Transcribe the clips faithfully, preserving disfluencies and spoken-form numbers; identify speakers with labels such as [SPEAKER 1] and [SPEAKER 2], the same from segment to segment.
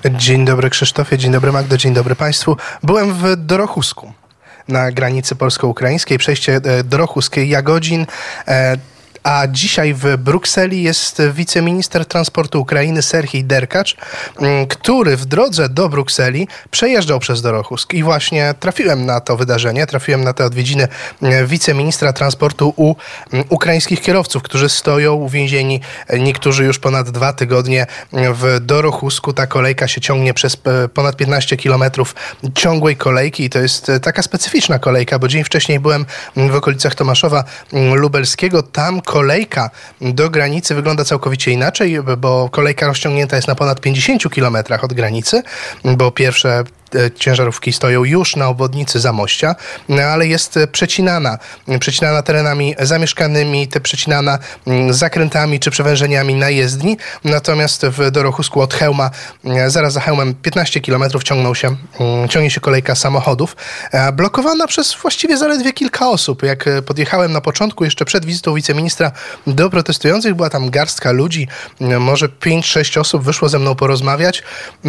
[SPEAKER 1] Dzień dobry Krzysztofie, dzień dobry Magdo, dzień dobry Państwu. Byłem w Dorochusku na granicy polsko-ukraińskiej, przejście Dorochusk-Jagodzin. A dzisiaj w Brukseli jest wiceminister transportu Ukrainy Serhij Derkacz, który w drodze do Brukseli przejeżdżał przez Dorochusk. I właśnie trafiłem na to wydarzenie, trafiłem na te odwiedziny wiceministra transportu u ukraińskich kierowców, którzy stoją uwięzieni, niektórzy już ponad dwa tygodnie w Dorochusku. Ta kolejka się ciągnie przez ponad piętnaście kilometrów ciągłej kolejki i to jest taka specyficzna kolejka, bo dzień wcześniej byłem w okolicach Tomaszowa Lubelskiego. Tam kolejka do granicy wygląda całkowicie inaczej, bo kolejka rozciągnięta jest na ponad pięćdziesięciu kilometrach od granicy, bo pierwsze ciężarówki stoją już na obwodnicy Zamościa, ale jest przecinana, przecinana terenami zamieszkanymi, te przecinana zakrętami czy przewężeniami na jezdni. Natomiast w Dorochusku od Chełma, zaraz za Chełmem piętnaście kilometrów ciągną się, ciągnie się kolejka samochodów, blokowana przez właściwie zaledwie kilka osób. Jak podjechałem na początku, jeszcze przed wizytą wiceministra do protestujących, była tam garstka ludzi, może pięć sześć osób wyszło ze mną porozmawiać.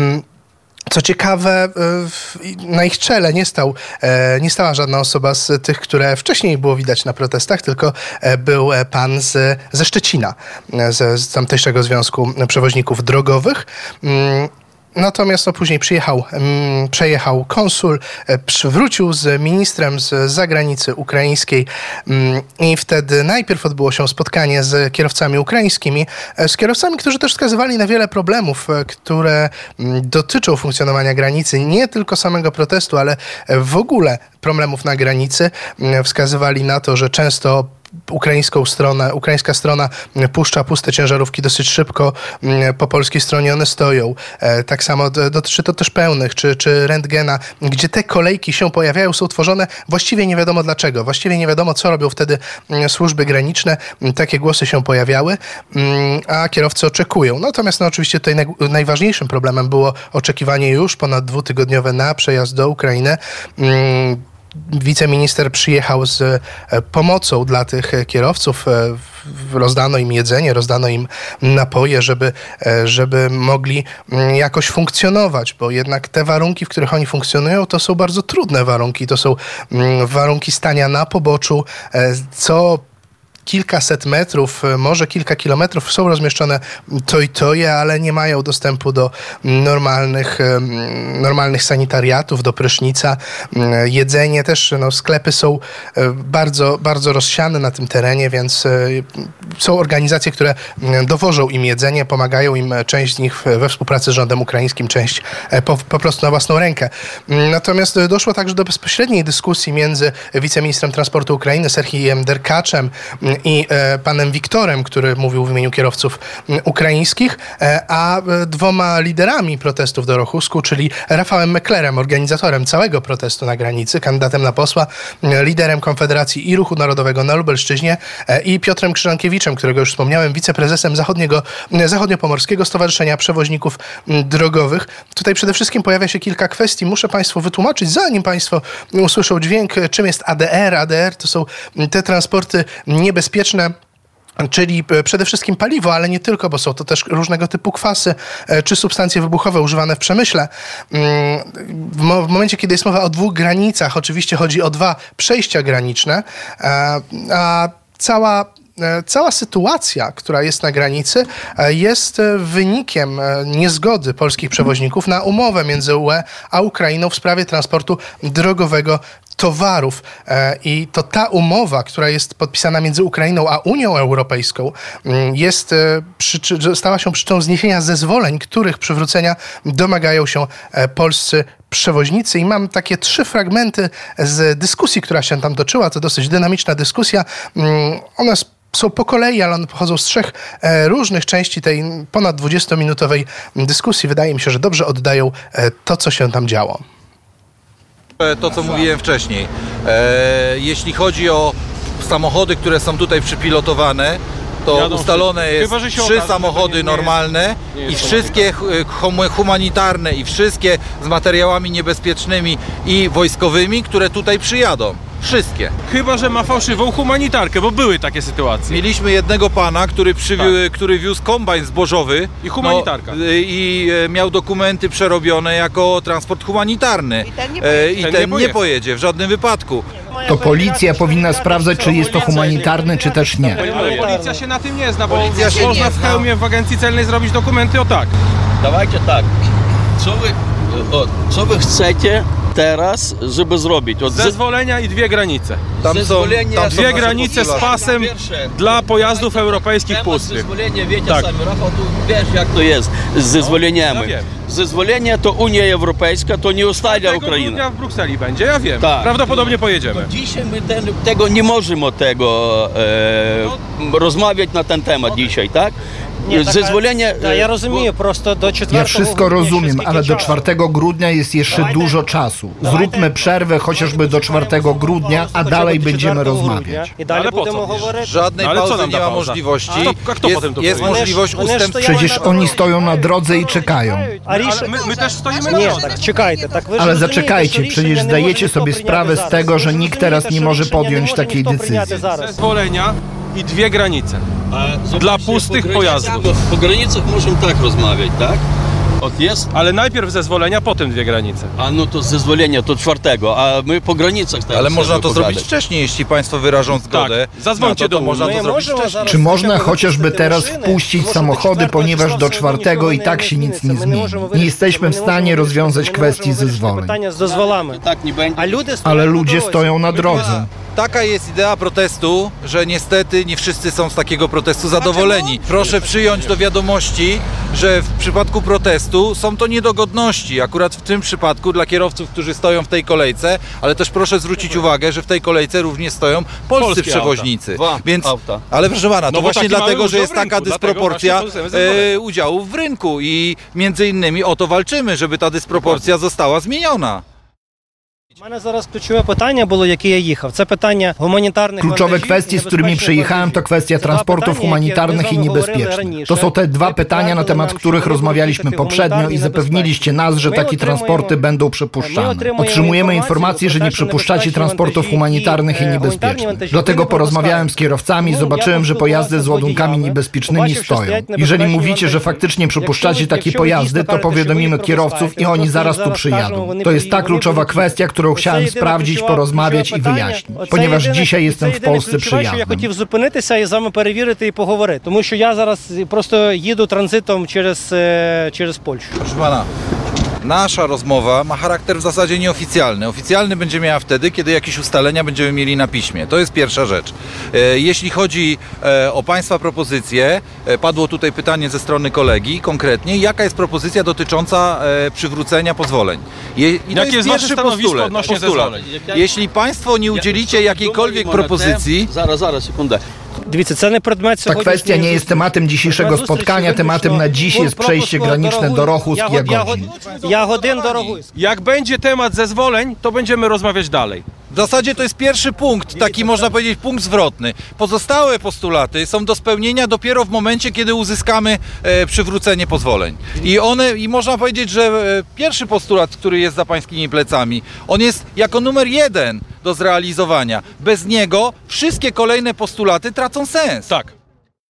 [SPEAKER 1] Co ciekawe, na ich czele nie, stał, nie stała żadna osoba z tych, które wcześniej było widać na protestach, tylko był pan z, ze Szczecina, z, z tamtejszego Związku Przewoźników Drogowych. Natomiast no, później przyjechał, mm, przejechał konsul, e, wrócił z ministrem z zagranicy ukraińskiej mm, i wtedy najpierw odbyło się spotkanie z kierowcami ukraińskimi, e, z kierowcami, którzy też wskazywali na wiele problemów, e, które m, dotyczą funkcjonowania granicy, nie tylko samego protestu, ale w ogóle problemów na granicy. E, wskazywali na to, że często ukraińską stronę, ukraińska strona puszcza puste ciężarówki dosyć szybko, po polskiej stronie one stoją. Tak samo dotyczy to też pełnych, czy, czy rentgena, gdzie te kolejki się pojawiają, są tworzone właściwie nie wiadomo dlaczego. Właściwie nie wiadomo, co robią wtedy służby graniczne. Takie głosy się pojawiały, a kierowcy oczekują. Natomiast no, oczywiście tutaj naj, najważniejszym problemem było oczekiwanie już ponad dwutygodniowe na przejazd do Ukrainy. Wiceminister przyjechał z pomocą dla tych kierowców. Rozdano im jedzenie, rozdano im napoje, żeby, żeby mogli jakoś funkcjonować, bo jednak te warunki, w których oni funkcjonują, to są bardzo trudne warunki. To są warunki stania na poboczu, co kilkaset metrów, może kilka kilometrów są rozmieszczone toj-toje, ale nie mają dostępu do normalnych, normalnych sanitariatów, do prysznica. Jedzenie też, no, sklepy są bardzo, bardzo rozsiane na tym terenie, więc są organizacje, które dowożą im jedzenie, pomagają im, część z nich we współpracy z rządem ukraińskim, część po, po prostu na własną rękę. Natomiast doszło także do bezpośredniej dyskusji między wiceministrem transportu Ukrainy Serhijem Derkaczem i e, panem Wiktorem, który mówił w imieniu kierowców m, ukraińskich, e, a e, dwoma liderami protestów w Dorochusku, czyli Rafałem Meklerem, organizatorem całego protestu na granicy, kandydatem na posła, e, liderem Konfederacji i Ruchu Narodowego na Lubelszczyźnie e, i Piotrem Krzyżankiewiczem, którego już wspomniałem, wiceprezesem Zachodniego, e, Zachodniopomorskiego Stowarzyszenia Przewoźników m, Drogowych. Tutaj przede wszystkim pojawia się kilka kwestii. Muszę Państwu wytłumaczyć, zanim Państwo usłyszą dźwięk, czym jest A D R. A D R to są te transporty niebezpieczne, czyli przede wszystkim paliwo, ale nie tylko, bo są to też różnego typu kwasy czy substancje wybuchowe używane w przemyśle. W momencie, kiedy jest mowa o dwóch granicach, oczywiście chodzi o dwa przejścia graniczne, a cała Cała sytuacja, która jest na granicy, jest wynikiem niezgody polskich przewoźników na umowę między U E a Ukrainą w sprawie transportu drogowego towarów. I to ta umowa, która jest podpisana między Ukrainą a Unią Europejską, jest, stała się przyczyną zniesienia zezwoleń, których przywrócenia domagają się polscy przewoźnicy. I mam takie trzy fragmenty z dyskusji, która się tam toczyła. To dosyć dynamiczna dyskusja. One są po kolei, ale one pochodzą z trzech e, różnych części tej ponad dwudziestominutowej dyskusji. Wydaje mi się, że dobrze oddają e, to, co się tam działo.
[SPEAKER 2] To, co mówiłem wcześniej. E, jeśli chodzi o samochody, które są tutaj przypilotowane, to Jadą ustalone jest chyba, trzy okaże, samochody nie, normalne nie jest, nie jest i wszystkie humanitarne i wszystkie z materiałami niebezpiecznymi i wojskowymi, które tutaj przyjadą. Wszystkie.
[SPEAKER 3] Chyba że ma fałszywą humanitarkę, bo były takie sytuacje.
[SPEAKER 2] Mieliśmy jednego pana, który, przywi- tak. który wiózł kombajn zbożowy
[SPEAKER 3] i humanitarka.
[SPEAKER 2] No, i e, miał dokumenty przerobione jako transport humanitarny.
[SPEAKER 4] I ten nie
[SPEAKER 2] E,
[SPEAKER 4] pojedzie.
[SPEAKER 2] I
[SPEAKER 3] Ten
[SPEAKER 2] ten
[SPEAKER 3] nie
[SPEAKER 2] nie
[SPEAKER 3] pojedzie.
[SPEAKER 2] pojedzie w żadnym wypadku.
[SPEAKER 5] To policja powinna sprawdzać, czy jest to humanitarny, czy też nie.
[SPEAKER 3] Ale policja się na tym nie zna, bo
[SPEAKER 2] Policja się
[SPEAKER 3] można
[SPEAKER 2] nie
[SPEAKER 3] w
[SPEAKER 2] zna.
[SPEAKER 3] hełmie w agencji celnej zrobić dokumenty o tak.
[SPEAKER 6] Давайте так. Co wy, o, co wy chcecie teraz, żeby zrobić? Od
[SPEAKER 3] Zezwolenia i dwie granice.
[SPEAKER 2] Tam są,
[SPEAKER 6] Zezwolenie-
[SPEAKER 2] tam są
[SPEAKER 3] Dwie
[SPEAKER 2] nasze
[SPEAKER 3] granice z
[SPEAKER 2] postulaty.
[SPEAKER 3] pasem
[SPEAKER 6] Pierwsze.
[SPEAKER 3] dla pojazdów europejskich
[SPEAKER 6] Temat
[SPEAKER 3] pustych.
[SPEAKER 6] zezwolenia, wiecie
[SPEAKER 3] Tak.
[SPEAKER 6] samі, Rafał, tu wiesz jak to jest z zezwoleniami.
[SPEAKER 3] ja wiem.
[SPEAKER 6] Zezwolenie to Unia Europejska, to nie ustalia
[SPEAKER 3] Tego
[SPEAKER 6] Ukraina.
[SPEAKER 3] grudnia w Brukseli będzie, ja wiem.
[SPEAKER 6] Tak.
[SPEAKER 3] Prawdopodobnie pojedziemy.
[SPEAKER 6] Dzisiaj my ten, tego nie możemy tego e, rozmawiać na ten temat dzisiaj, tak?
[SPEAKER 7] Ні, так,
[SPEAKER 6] Zezwolenie...
[SPEAKER 7] Та, я розумію, просто до четвертого
[SPEAKER 5] Ja wszystko
[SPEAKER 7] грудня ще
[SPEAKER 5] rozumiem,
[SPEAKER 7] скільки
[SPEAKER 5] ale do
[SPEAKER 7] часу?
[SPEAKER 5] czwartego grudnia jest jeszcze dużo czasu. Zróbmy przerwę chociażby do czwartego grudnia, a dalej będziemy rozmawiać.
[SPEAKER 7] І далі
[SPEAKER 3] Але по
[SPEAKER 7] будемо
[SPEAKER 3] co?
[SPEAKER 7] говорити.
[SPEAKER 2] Żadnej
[SPEAKER 3] No ale co
[SPEAKER 2] pauzy
[SPEAKER 3] nam
[SPEAKER 2] nie
[SPEAKER 3] ta
[SPEAKER 2] ma
[SPEAKER 3] pauza?
[SPEAKER 2] możliwości.
[SPEAKER 3] A to- a kto
[SPEAKER 2] jest
[SPEAKER 3] potem to
[SPEAKER 2] jest
[SPEAKER 3] powie?
[SPEAKER 2] możliwość
[SPEAKER 7] Вони ж
[SPEAKER 2] ustępstwa.
[SPEAKER 7] стояли
[SPEAKER 5] Przecież
[SPEAKER 7] на
[SPEAKER 5] oni
[SPEAKER 7] дорозі.
[SPEAKER 5] stoją na drodze i czekają.
[SPEAKER 7] А ріш...
[SPEAKER 3] Ale my, my też stoimy na
[SPEAKER 7] Ні,
[SPEAKER 3] drodze.
[SPEAKER 7] так чекайте, так ви ж
[SPEAKER 5] Ale
[SPEAKER 7] розумієте,
[SPEAKER 5] zaczekajcie,
[SPEAKER 7] що
[SPEAKER 5] przecież
[SPEAKER 7] рішення не
[SPEAKER 5] zdajecie
[SPEAKER 7] може
[SPEAKER 5] sobie
[SPEAKER 7] ніхто
[SPEAKER 5] sprawę
[SPEAKER 7] прийняти
[SPEAKER 5] z tego,
[SPEAKER 7] зараз.
[SPEAKER 5] że
[SPEAKER 7] Ви ж
[SPEAKER 5] nikt teraz
[SPEAKER 7] розумієте,
[SPEAKER 5] nie może
[SPEAKER 7] що рішення
[SPEAKER 5] podjąć
[SPEAKER 7] не
[SPEAKER 5] takiej
[SPEAKER 7] може ніхто прийняти
[SPEAKER 5] decyzji.
[SPEAKER 7] зараз.
[SPEAKER 3] Zezwolenia i dwie granice.
[SPEAKER 6] A
[SPEAKER 3] Dla
[SPEAKER 6] zobaczcie,
[SPEAKER 3] pustych
[SPEAKER 6] po
[SPEAKER 3] pojazdów.
[SPEAKER 6] granicach- Po granicach możemy tak rozmawiać, tak? Od jest,
[SPEAKER 3] Ale najpierw zezwolenia, potem dwie granice.
[SPEAKER 6] a no to zezwolenie to czwartego, a my po granicach teraz
[SPEAKER 2] Ale można to
[SPEAKER 6] chcemy
[SPEAKER 2] zrobić
[SPEAKER 6] pogadać.
[SPEAKER 2] wcześniej, jeśli państwo wyrażą zgodę.
[SPEAKER 3] Zadzwońcie
[SPEAKER 2] na to, to
[SPEAKER 3] do
[SPEAKER 2] można
[SPEAKER 7] Ми
[SPEAKER 2] to zrobić
[SPEAKER 7] можемо
[SPEAKER 2] wcześniej.
[SPEAKER 7] зараз
[SPEAKER 5] Czy można
[SPEAKER 7] хотя б
[SPEAKER 5] chociażby
[SPEAKER 7] випустити
[SPEAKER 5] teraz
[SPEAKER 7] машини,
[SPEAKER 5] wpuścić
[SPEAKER 7] тому що
[SPEAKER 5] samochody,
[SPEAKER 7] до четвертого
[SPEAKER 5] ponieważ
[SPEAKER 7] числа
[SPEAKER 5] do
[SPEAKER 7] все
[SPEAKER 5] czwartego
[SPEAKER 7] одно
[SPEAKER 5] i
[SPEAKER 7] нічого
[SPEAKER 5] tak się nic
[SPEAKER 7] зміниться.
[SPEAKER 5] nie
[SPEAKER 7] Ми не
[SPEAKER 5] zmieni.
[SPEAKER 7] можемо
[SPEAKER 5] Nie
[SPEAKER 7] вирішити,
[SPEAKER 5] jesteśmy
[SPEAKER 7] ми
[SPEAKER 5] w
[SPEAKER 7] не
[SPEAKER 5] stanie
[SPEAKER 7] можемо
[SPEAKER 5] rozwiązać
[SPEAKER 7] вирішити,
[SPEAKER 5] kwestii
[SPEAKER 7] ми не можемо вирішити
[SPEAKER 5] zezwoleń.
[SPEAKER 7] питання з дозволами.
[SPEAKER 6] Tak nie będzie.
[SPEAKER 7] А люди
[SPEAKER 5] Ale
[SPEAKER 7] стоять на
[SPEAKER 5] ludzie
[SPEAKER 7] дорозі.
[SPEAKER 5] stoją na drodze.
[SPEAKER 2] Taka jest idea protestu, że niestety nie wszyscy są z takiego protestu zadowoleni. Proszę przyjąć do wiadomości, że w przypadku protestu są to niedogodności, akurat w tym przypadku dla kierowców, którzy stoją w tej kolejce, ale też proszę zwrócić uwagę, że w tej kolejce również stoją polscy
[SPEAKER 3] Polskie
[SPEAKER 2] przewoźnicy.
[SPEAKER 6] Dwa
[SPEAKER 2] Więc,
[SPEAKER 6] auta.
[SPEAKER 2] ale proszę pana, to
[SPEAKER 3] No bo
[SPEAKER 2] właśnie
[SPEAKER 3] taki mamy
[SPEAKER 2] dlatego, że
[SPEAKER 3] udział
[SPEAKER 2] jest
[SPEAKER 3] w
[SPEAKER 2] taka
[SPEAKER 3] rynku, dlatego
[SPEAKER 2] dysproporcja
[SPEAKER 3] właśnie to zezwolenie.
[SPEAKER 2] e, udziałów w rynku i między innymi o to walczymy, żeby ta dysproporcja została zmieniona.
[SPEAKER 7] У мене зараз ключове питання було, яке я їхав. Це питання гуманітарних
[SPEAKER 5] Kluczowe
[SPEAKER 7] вантажів і
[SPEAKER 5] kwestie, z którymi
[SPEAKER 7] небезпечних
[SPEAKER 5] przyjechałem, to
[SPEAKER 7] вантажів.
[SPEAKER 5] kwestia
[SPEAKER 7] Це два
[SPEAKER 5] transportów
[SPEAKER 7] питання, які
[SPEAKER 5] humanitarnych i
[SPEAKER 7] ми з вами говорили
[SPEAKER 5] niebezpiecznych.
[SPEAKER 7] раніше.
[SPEAKER 5] To są te dwa
[SPEAKER 7] Ви
[SPEAKER 5] pytania, na
[SPEAKER 7] підтвердили
[SPEAKER 5] temat
[SPEAKER 7] нам,
[SPEAKER 5] których
[SPEAKER 7] що ви
[SPEAKER 5] rozmawialiśmy
[SPEAKER 7] будете
[SPEAKER 5] poprzednio i
[SPEAKER 7] гуманітарні
[SPEAKER 5] zapewniliście nas, że
[SPEAKER 7] My
[SPEAKER 5] takie
[SPEAKER 7] otrzymujemy-
[SPEAKER 5] transporty będą
[SPEAKER 7] My
[SPEAKER 5] przypuszczane.
[SPEAKER 7] otrzymujemy
[SPEAKER 5] Otrzymujemy
[SPEAKER 7] informacje,
[SPEAKER 5] informacje, że nie
[SPEAKER 7] że
[SPEAKER 5] przypuszczacie
[SPEAKER 7] niebezpieczne
[SPEAKER 5] transportów
[SPEAKER 7] wantagi
[SPEAKER 5] humanitarnych i
[SPEAKER 7] i, e,
[SPEAKER 5] niebezpiecznych.
[SPEAKER 7] humanitarne
[SPEAKER 5] Dlatego
[SPEAKER 7] wantagi
[SPEAKER 5] porozmawiałem z
[SPEAKER 7] wypuszczają.
[SPEAKER 5] kierowcami i
[SPEAKER 7] No,
[SPEAKER 5] zobaczyłem,
[SPEAKER 7] ja
[SPEAKER 5] że pojazdy z
[SPEAKER 7] pоспілкувався
[SPEAKER 5] ładunkami
[SPEAKER 7] з водіями,
[SPEAKER 5] niebezpiecznymi
[SPEAKER 7] побачив, що
[SPEAKER 5] stoją.
[SPEAKER 7] стоять
[SPEAKER 5] Jeżeli
[SPEAKER 7] небезпечні
[SPEAKER 5] mówicie, że
[SPEAKER 7] вантажі.
[SPEAKER 5] faktycznie przypuszczacie
[SPEAKER 7] Якщо ви-
[SPEAKER 5] takie
[SPEAKER 7] якщо ви
[SPEAKER 5] pojazdy,
[SPEAKER 7] дійсно
[SPEAKER 5] to
[SPEAKER 7] кажете, що ви
[SPEAKER 5] powiadomimy
[SPEAKER 7] їх
[SPEAKER 5] kierowców i
[SPEAKER 7] пропускаєте,
[SPEAKER 5] oni
[SPEAKER 7] то
[SPEAKER 5] zaraz tu
[SPEAKER 7] зараз
[SPEAKER 5] przyjadą.
[SPEAKER 7] кажемо, вони
[SPEAKER 5] To jest ta
[SPEAKER 7] приїдуть,
[SPEAKER 5] kluczowa
[SPEAKER 7] вони
[SPEAKER 5] kwestia, którą
[SPEAKER 7] Оце
[SPEAKER 5] chciałem
[SPEAKER 7] єдине
[SPEAKER 5] sprawdzić,
[SPEAKER 7] ключове-
[SPEAKER 5] porozmawiać i
[SPEAKER 7] ключове питання.
[SPEAKER 5] wyjaśnić.
[SPEAKER 7] Оце
[SPEAKER 5] Ponieważ
[SPEAKER 7] єдине-
[SPEAKER 5] dzisiaj
[SPEAKER 7] це
[SPEAKER 5] jestem w
[SPEAKER 7] єдине
[SPEAKER 5] Polsce
[SPEAKER 7] ключове, що я
[SPEAKER 5] przyjazdem.
[SPEAKER 7] хотів зупинитися і з вами перевірити і поговорити. Тому що я зараз просто їду транзитом через, е, через Польщу.
[SPEAKER 2] Proszę pana, nasza rozmowa ma charakter w zasadzie nieoficjalny. Oficjalny będzie miała wtedy, kiedy jakieś ustalenia będziemy mieli na piśmie. To jest pierwsza rzecz. E, Jeśli chodzi e, o państwa propozycje, e, padło tutaj pytanie ze strony kolegi konkretnie, jaka jest propozycja dotycząca e, przywrócenia pozwoleń. Je, I to
[SPEAKER 3] Jakie jest wasze
[SPEAKER 2] pierwszy
[SPEAKER 3] stanowisko
[SPEAKER 2] postulat.
[SPEAKER 3] odnośnie
[SPEAKER 2] postulat.
[SPEAKER 3] zezwoleń?
[SPEAKER 2] Jeśli państwo nie udzielicie jakiejkolwiek propozycji,
[SPEAKER 6] Зараз, зараз, секунда.
[SPEAKER 7] Дивіться, це не предмет
[SPEAKER 5] Ta
[SPEAKER 7] сьогоднішньої
[SPEAKER 5] kwestia nie jest
[SPEAKER 7] зустрічі.
[SPEAKER 5] tematem dzisiejszego
[SPEAKER 7] Предмет
[SPEAKER 5] spotkania,
[SPEAKER 7] зустрічі
[SPEAKER 5] tematem na dziś
[SPEAKER 7] виключно
[SPEAKER 5] jest przejście
[SPEAKER 7] пропуску
[SPEAKER 5] graniczne do Rochusk i
[SPEAKER 7] Ягод-
[SPEAKER 5] Jagodzin.
[SPEAKER 7] Ягод- Ягодин до Рогуська.
[SPEAKER 3] Jak będzie temat zezwoleń, to będziemy rozmawiać dalej.
[SPEAKER 2] w zasadzie to jest pierwszy punkt, taki można powiedzieć punkt zwrotny. Pozostałe postulaty są do spełnienia dopiero w momencie, kiedy uzyskamy e, przywrócenie pozwoleń. I one, i można powiedzieć, że e, pierwszy postulat, który jest za pańskimi plecami, on jest jako numer jeden do zrealizowania. Bez niego wszystkie kolejne postulaty tracą sens.
[SPEAKER 3] Tak.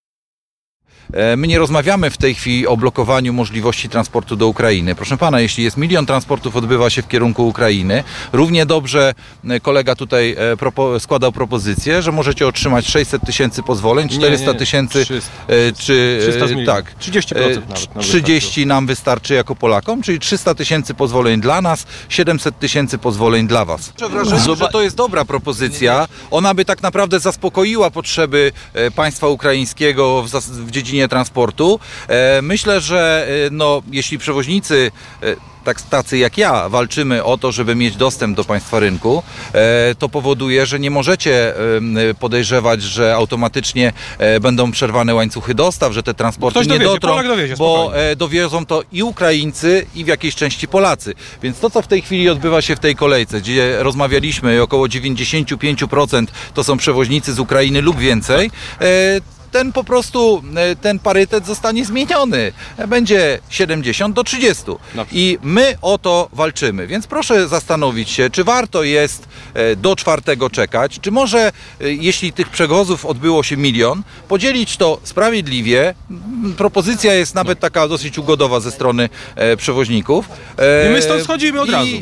[SPEAKER 2] E, My nie rozmawiamy w tej chwili o blokowaniu możliwości transportu do Ukrainy. Proszę pana, jeśli jest milion transportów, odbywa się w kierunku Ukrainy, równie dobrze e, kolega tutaj e, propo- składał propozycję, że możecie otrzymać sześćset tysięcy pozwoleń, czterysta tysięcy
[SPEAKER 3] trzysta.
[SPEAKER 2] e, czy
[SPEAKER 3] trzysta z
[SPEAKER 2] e,
[SPEAKER 3] milionów.
[SPEAKER 2] tak,
[SPEAKER 3] trzydzieści procent nawet nam
[SPEAKER 2] trzydzieści nam wystarczy jako Polakom, czyli trzysta tysięcy pozwoleń dla nas, siedemset tysięcy pozwoleń dla was. Mam wrażenie, że to jest dobra propozycja. Ona by tak naprawdę zaspokoiła potrzeby e, państwa ukraińskiego w, zas- w dziedzinie transportu. E, Myślę, że e, no, jeśli przewoźnicy e, tak, tacy jak ja walczymy o to, żeby mieć dostęp do państwa rynku, e, to powoduje, że nie możecie e, podejrzewać, że automatycznie e, będą przerwane łańcuchy dostaw, że te transporty
[SPEAKER 3] Ktoś
[SPEAKER 2] nie
[SPEAKER 3] dowiezie,
[SPEAKER 2] dotrą,
[SPEAKER 3] Polak dowiezie,
[SPEAKER 2] bo
[SPEAKER 3] spokojnie.
[SPEAKER 2] e, dowiozą to i Ukraińcy, i w jakiejś części Polacy. Więc to, co w tej chwili odbywa się w tej kolejce, gdzie rozmawialiśmy, około dziewięćdziesiąt pięć procent to są przewoźnicy z Ukrainy lub więcej, e, ten po prostu, e, ten parytet zostanie zmieniony. Będzie siedemdziesiąt do trzydziestu. I my o to walczymy. Więc proszę zastanowić się, czy warto jest e, do czwartego czekać, czy może, e, jeśli tych przewozów odbyło się milion, podzielić to sprawiedliwie. Propozycja jest nawet taka dosyć ugodowa ze strony e, przewoźników. E,
[SPEAKER 3] I my stąd schodzimy od
[SPEAKER 2] i-
[SPEAKER 3] razu.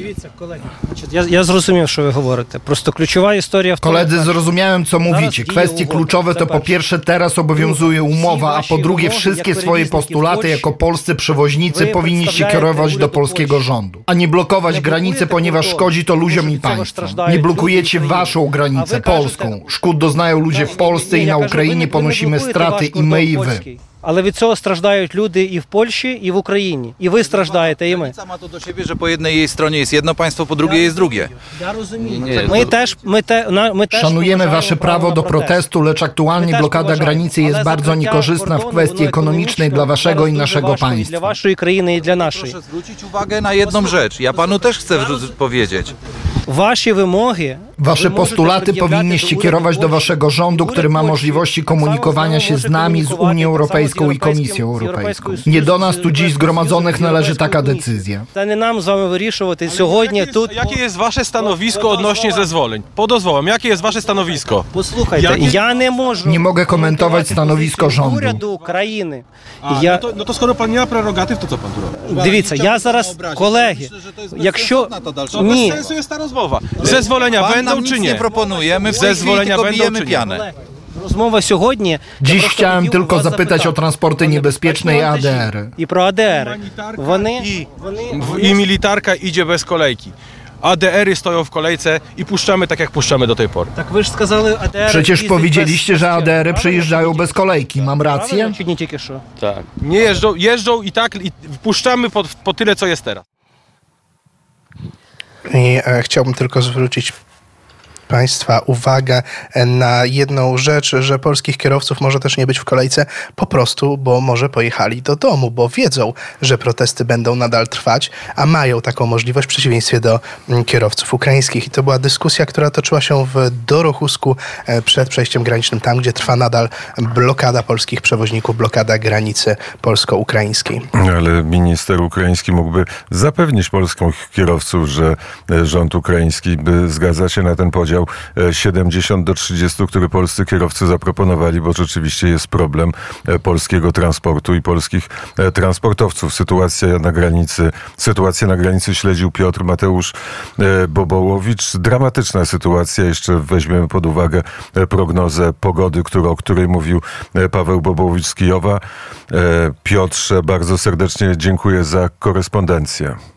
[SPEAKER 7] Я, я зрозумів, що ви говорите. Просто ключова історія в тому,
[SPEAKER 5] Koledzy,
[SPEAKER 7] так,
[SPEAKER 5] zrozumiałem, co mówicie. Kwestie kluczowe to po pierwsze teraz obowiązuje umowa, a po drugie wszystkie swoje postulaty jako polscy przewoźnicy powinniście kierować do polskiego rządu, a nie blokować granicy, ponieważ szkodzi to ludziom i państwu. Nie blokujecie waszą granicę, polską. Szkód doznają ludzie w Polsce i na Ukrainie, ponosimy straty i my i wy.
[SPEAKER 7] Але від цього страждають люди і в Польщі, і в Україні. І ви страждаєте, і ми.
[SPEAKER 2] Granica ma to do siebie, że po jednej jej stronie jest jedno państwo, po drugiej jest drugie.
[SPEAKER 7] Я розумію.
[SPEAKER 6] Ні,
[SPEAKER 7] Ми
[SPEAKER 6] то-
[SPEAKER 7] теж, ми те, на- ми теж
[SPEAKER 5] Szanujemy
[SPEAKER 7] поважаємо
[SPEAKER 5] wasze prawo do
[SPEAKER 7] на протест.
[SPEAKER 5] protestu, lecz aktualnie
[SPEAKER 7] My też
[SPEAKER 5] blokada
[SPEAKER 7] поважаємо.
[SPEAKER 5] granicy jest
[SPEAKER 7] Але
[SPEAKER 5] bardzo
[SPEAKER 7] закриття
[SPEAKER 5] niekorzystna w
[SPEAKER 7] кордону,
[SPEAKER 5] kwestii
[SPEAKER 7] воно
[SPEAKER 5] ekonomicznej dla
[SPEAKER 7] економічно
[SPEAKER 5] waszego i
[SPEAKER 7] зараз дуже
[SPEAKER 5] naszego
[SPEAKER 7] важко і для
[SPEAKER 5] państwa.
[SPEAKER 7] вашої країни, і для нашої.
[SPEAKER 2] Proszę zwrócić uwagę na jedną rzecz. Ja panu też chcę wrzu- powiedzieć.
[SPEAKER 7] Ваші вимоги,
[SPEAKER 5] Wasze
[SPEAKER 7] ви можете
[SPEAKER 5] postulaty
[SPEAKER 7] пред'являти
[SPEAKER 5] powinniście
[SPEAKER 7] до
[SPEAKER 5] kierować do
[SPEAKER 7] уряду
[SPEAKER 5] waszego rządu,
[SPEAKER 7] Польщі.
[SPEAKER 5] który ma
[SPEAKER 7] Уряд
[SPEAKER 5] możliwości
[SPEAKER 7] Польщі так само
[SPEAKER 5] komunikowania się
[SPEAKER 7] może
[SPEAKER 5] z nami, z
[SPEAKER 7] komunikować,
[SPEAKER 5] Unią
[SPEAKER 7] tak samo z
[SPEAKER 5] Europejską i
[SPEAKER 7] Європейським-
[SPEAKER 5] Komisją
[SPEAKER 7] з
[SPEAKER 5] Europejską.
[SPEAKER 7] Європейською
[SPEAKER 5] Nie do
[SPEAKER 7] Союзом,
[SPEAKER 5] nas tu dziś
[SPEAKER 7] з
[SPEAKER 5] zgromadzonych
[SPEAKER 7] Європейською
[SPEAKER 5] należy taka
[SPEAKER 7] Комісією.
[SPEAKER 5] decyzja.
[SPEAKER 7] Це не нам з вами вирішувати
[SPEAKER 3] Jakie
[SPEAKER 7] сьогодні
[SPEAKER 3] jest,
[SPEAKER 7] тут.
[SPEAKER 3] jakie jest wasze stanowisko odnośnie zezwoleń? Po dozwołom, jakie jest wasze stanowisko?
[SPEAKER 7] Послухайте,
[SPEAKER 3] Jakie-
[SPEAKER 7] я не можу
[SPEAKER 5] Nie mogę komentować stanowisko
[SPEAKER 7] позицію
[SPEAKER 5] rządu.
[SPEAKER 7] уряду країни.
[SPEAKER 3] A,
[SPEAKER 7] Я,
[SPEAKER 3] no, to, no to skoro pan nie ma prerogatyw, to co pan tu robi?
[SPEAKER 7] Дивіться, я зараз, колеги, якщо...
[SPEAKER 3] To
[SPEAKER 7] Ні,
[SPEAKER 3] bez sensu jest ta rozmowa. Zezwolenia
[SPEAKER 2] Pan
[SPEAKER 3] będą
[SPEAKER 2] nam
[SPEAKER 3] czy
[SPEAKER 2] nic
[SPEAKER 3] nie?
[SPEAKER 2] nie proponuje, my w tej chwili
[SPEAKER 3] Zezwolenia
[SPEAKER 2] tylko
[SPEAKER 3] będą
[SPEAKER 2] bijemy
[SPEAKER 3] czy nie?
[SPEAKER 2] pianę.
[SPEAKER 7] розмова сьогодні... я
[SPEAKER 5] Dziś
[SPEAKER 7] просто
[SPEAKER 5] chciałem
[SPEAKER 7] хотів
[SPEAKER 5] tylko
[SPEAKER 7] вас
[SPEAKER 5] zapytać o
[SPEAKER 7] запитати.
[SPEAKER 5] transporty niebezpieczne i A D R.
[SPEAKER 7] І про А Д Р.
[SPEAKER 3] Humanitarka
[SPEAKER 7] Вони,
[SPEAKER 3] i,
[SPEAKER 7] вони,
[SPEAKER 3] w- i militarka idzie bez kolejki. A D R y stoją w kolejce i puszczamy tak, jak puszczamy do tej pory.
[SPEAKER 7] Так ви ж сказали, А Д Р...
[SPEAKER 5] Przecież
[SPEAKER 7] їздить
[SPEAKER 5] powiedzieliście,
[SPEAKER 7] без-
[SPEAKER 5] że A D R-y
[SPEAKER 7] Правильно?
[SPEAKER 5] przyjeżdżają bez kolejki. Mam rację?
[SPEAKER 7] Правильно, чи ні тільки що?
[SPEAKER 6] Так.
[SPEAKER 3] Nie jeżdżą, jeżdżą i tak i puszczamy po, po tyle, co jest teraz.
[SPEAKER 1] I e, chciałbym tylko zwrócić Państwa uwagę na jedną rzecz, że polskich kierowców może też nie być w kolejce po prostu, bo może pojechali do domu, bo wiedzą, że protesty będą nadal trwać, a mają taką możliwość w przeciwieństwie do mm, kierowców ukraińskich. I to była dyskusja, która toczyła się w Dorochusku e, przed przejściem granicznym, tam gdzie trwa nadal blokada polskich przewoźników, blokada granicy polsko-ukraińskiej.
[SPEAKER 4] Ale minister ukraiński mógłby zapewnić polskich kierowców, że e, rząd ukraiński by zgadza się na ten podział e, siedemdziesiąt do trzydziestu, który polscy kierowcy zaproponowali, bo rzeczywiście jest problem e, polskiego transportu i polskich e, transportowców. Sytuacja na granicy, sytuację na granicy śledził Piotr Mateusz e, Bobołowicz. Dramatyczna sytuacja. Jeszcze weźmiemy pod uwagę e, prognozę pogody, którą, o której mówił e, Paweł Bobołowicz z Kijowa. E, Piotrze, bardzo serdecznie dziękuję za korespondencję.